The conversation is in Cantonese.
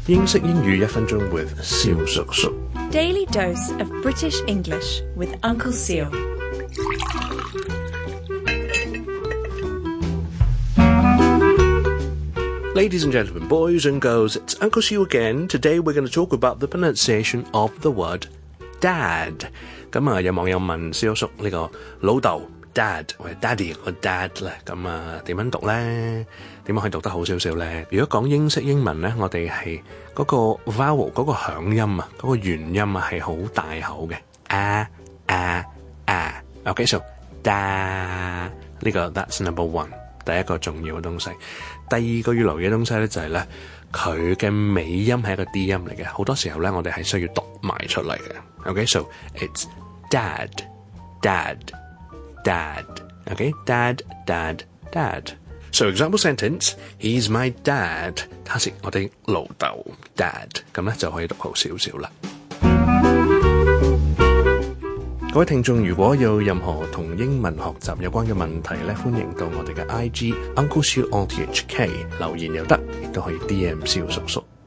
英式英語1分鐘 with 蕭叔叔。 Daily dose of British English with Uncle Seal. Ladies and gentlemen, boys and girls, it's Uncle Seal again. Today we're going to talk about the pronunciation of the word dad. 咁啊，有網友問蕭叔呢個老豆 dad 或者 daddy 個 dad 咧，咁啊點樣讀咧？點樣可以讀得好少少咧？如果講英式英文咧，我哋係嗰個 vowel 嗰個響音啊，嗰個元音啊係好大口嘅Okay, so da 呢個 that's number one， 第一個重要嘅東西。第二個要留意嘅東西咧就係咧，佢嘅尾音係一個 D 音嚟嘅，好多時候咧我哋係需要讀埋出嚟嘅。Okay, so it's dad, dad, dad. Okay, dad, dad, dad. So example sentence, he's my dad. 他是我哋老豆 dad， 咁咧就可以讀好少少啦。各位聽眾，如果有任何同英文學習有關嘅問題咧，歡迎到我哋嘅 IG Uncle Seal on THK 留言又得，亦都可以 DM 蕭叔叔。